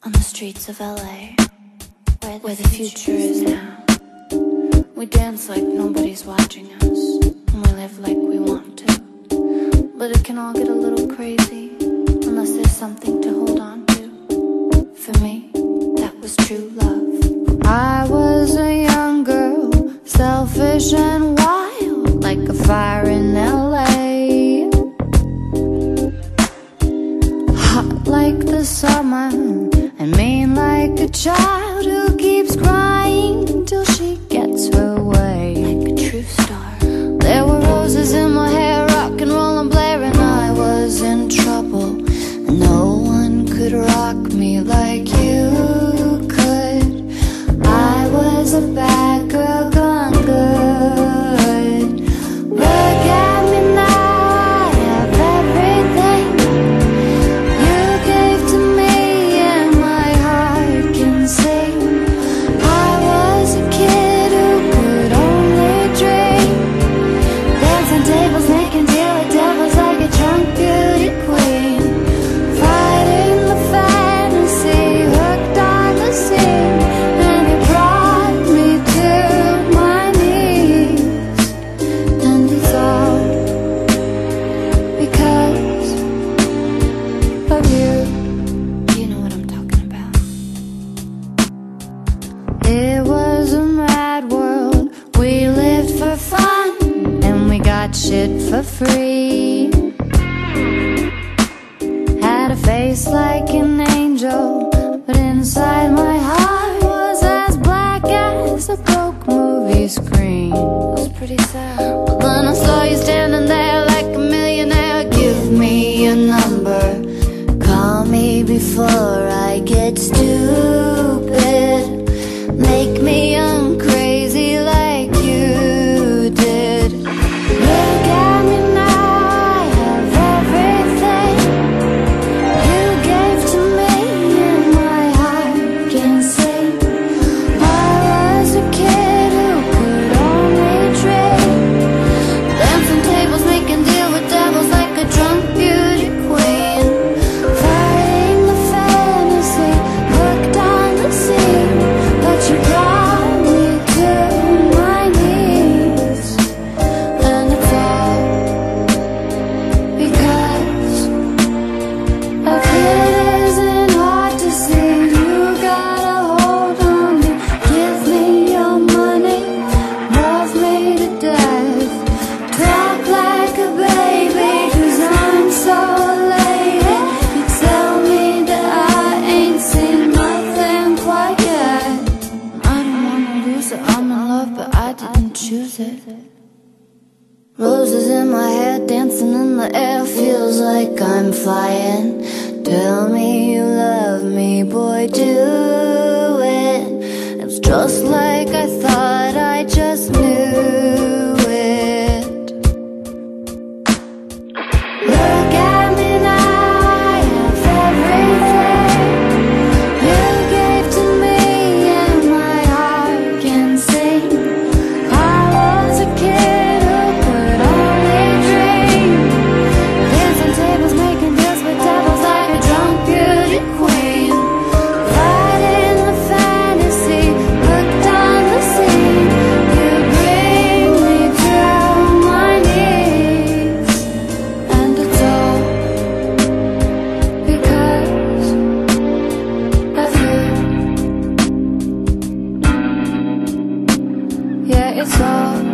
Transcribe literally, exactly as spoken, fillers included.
on the streets of L A, where the, where the future is now. We dance like nobody's watching us, and we live like we want to. But it can all get a little crazy unless there's something to hold on to. For me, that was true love. I was a young girl, selfish and wild, like a fire in L A, hot like the summer, and mean like a child who keeps crying till she gets her way. Like a true star. There were roses in my hair, rock and roll and blaring. I was in trouble, and no one could rock me like you could. I was a bad girl gone good. Look at me now, I have everything you gave to me, and my heart can sing. I was a kid who could only dream, dancing tables, making deal with devils like a drunk beauty queen, fighting the fantasy, hooked on the scene, and it brought me to my knees. And it's all because of you. You know what I'm talking about. It was a mad world, we lived for fun, and we got shit for free. Had a face like an angel, but inside my heart was as black as a broke movie screen. It was pretty sad. But then I saw you standing there like a millionaire. Give me your number, call me before I get stupid, make me young crazy like you did. Look at me now, I have everything you gave to me, and my heart can sing. I was a kid who could only dream, dancing tables, making deal with devils like a drunk beauty queen, fighting the fantasy, hooked on the scene. But you brought me to my knees, and it's all because of you. It isn't hard to see, you got a hold on me. Give me your money, love me to death, talk like a baby, 'cause I'm so elated. You tell me that I ain't seen nothing quite yet. I don't wanna lose it, I'm in love, but I didn't choose it. Roses in my hair, dancing in the air, feels like I'm flying. Tell me you love me, boy, do it. It's just like I thought, I just knew it. Look at me now, I have everything you gave to me, and my heart can sing. I was a kid who could only dream, dancing tables, making deals with devils like a drunk beauty queen, fighting the fantasy, hooked on the scene. You bring me to my knees, and it's all because of you. Yeah, it's all